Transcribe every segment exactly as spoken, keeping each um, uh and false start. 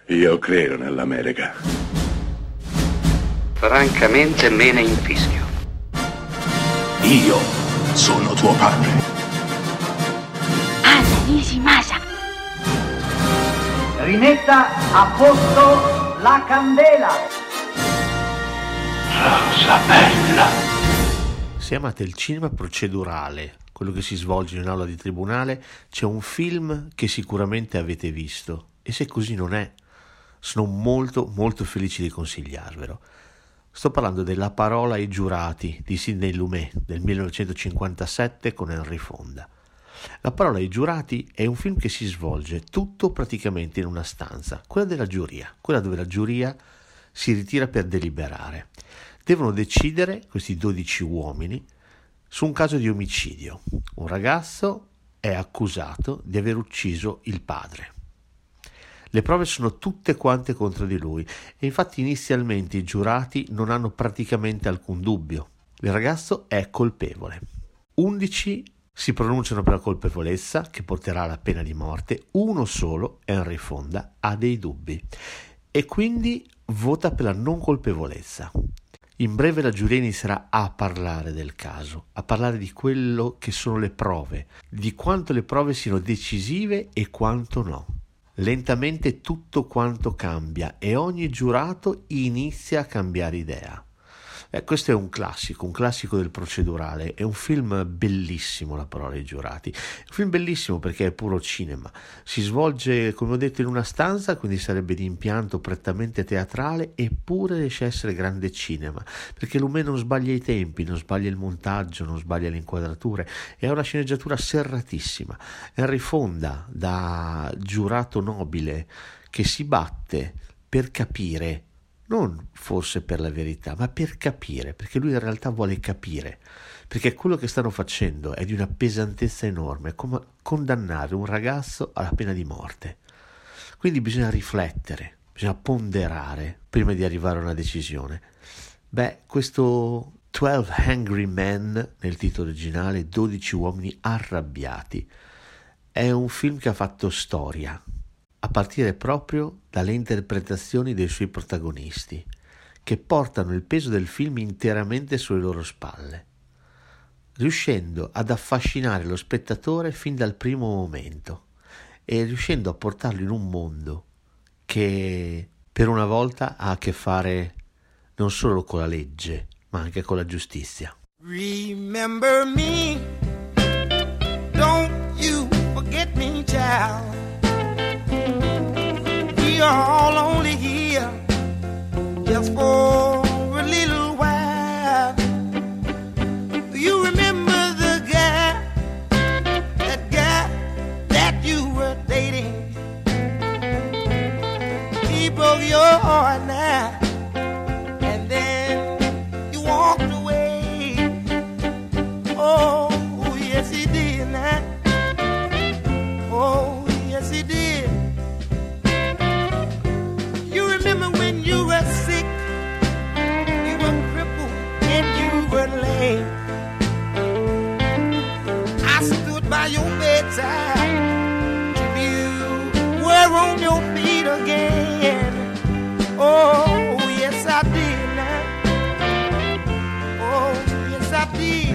Io credo nell'America. Francamente me ne infischio. Io sono tuo padre. Anna Nishimasa. Rimetta a posto la candela. Rosa bella. Se amate il cinema procedurale, quello che si svolge in un'aula di tribunale, c'è un film che sicuramente avete visto, e se così non è, sono molto molto felice di consigliarvelo. Sto parlando della Parola ai giurati di Sidney Lumet del millenovecentocinquantasette con Henry Fonda. La Parola ai giurati è un film che si svolge tutto praticamente in una stanza, quella della giuria, quella dove la giuria si ritira per deliberare. Devono decidere questi dodici uomini su un caso di omicidio. Un ragazzo è accusato di aver ucciso il padre. Le prove sono tutte quante contro di lui e infatti inizialmente i giurati non hanno praticamente alcun dubbio. Il ragazzo è colpevole. Undici si pronunciano per la colpevolezza, che porterà alla pena di morte. Uno solo, Henry Fonda, ha dei dubbi e quindi vota per la non colpevolezza. In breve la giuria inizierà a parlare del caso, a parlare di quello che sono le prove, di quanto le prove siano decisive e quanto no. Lentamente tutto quanto cambia e ogni giurato inizia a cambiare idea. Eh, questo è un classico, un classico del procedurale, è un film bellissimo, La Parola ai giurati. È un film bellissimo perché è puro cinema, si svolge, come ho detto, in una stanza, quindi sarebbe di impianto prettamente teatrale, eppure riesce a essere grande cinema, perché Lumet non sbaglia i tempi, non sbaglia il montaggio, non sbaglia le inquadrature, e ha una sceneggiatura serratissima. Henry Fonda, da giurato nobile, che si batte per capire, non forse per la verità, ma per capire, perché lui in realtà vuole capire, perché quello che stanno facendo è di una pesantezza enorme, come condannare un ragazzo alla pena di morte. Quindi bisogna riflettere, bisogna ponderare prima di arrivare a una decisione. Beh, questo Twelve Angry Men, nel titolo originale, dodici uomini arrabbiati, è un film che ha fatto storia, a partire proprio dalle interpretazioni dei suoi protagonisti, che portano il peso del film interamente sulle loro spalle, riuscendo ad affascinare lo spettatore fin dal primo momento e riuscendo a portarlo in un mondo che per una volta ha a che fare non solo con la legge, ma anche con la giustizia. Remember me, don't you forget me, child. We are all only here just for a little while. Do you remember the guy, that guy that you were dating? He broke your heart now, and then you walked away. Oh, yes he did now. Oh, yes he did. Remember when you were sick, you were crippled and you were lame. I stood by your bedside till you were on your feet again. Oh, yes I did now. Oh, yes I did.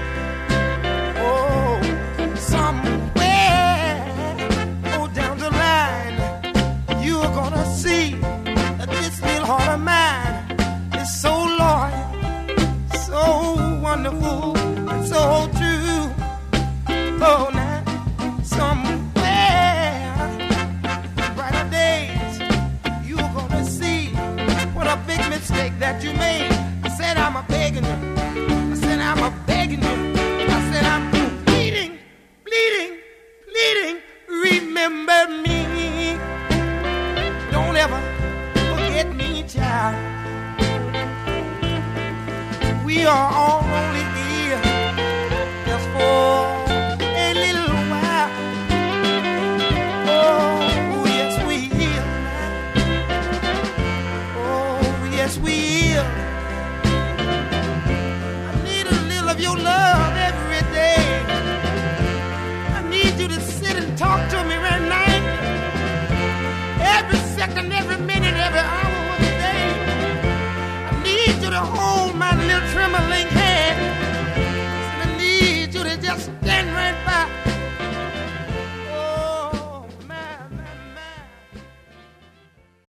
Oh, somewhere, oh, down the line, you're gonna see this little heart of mine is so loyal, so wonderful, and so true. Oh, now, somewhere, brighter days, you're gonna see what a big mistake that you made. I said I'm a begging you, I said I'm a begging you, I said I'm pleading, pleading, pleading, remember me. Don't ever forget me, child. We are all only here just for a little while. Oh, yes we will. Oh, yes we will. I need a little of your love every day. I need you to sit and talk to me right now. Every second second, every minute, every hour of the day. I need you to hold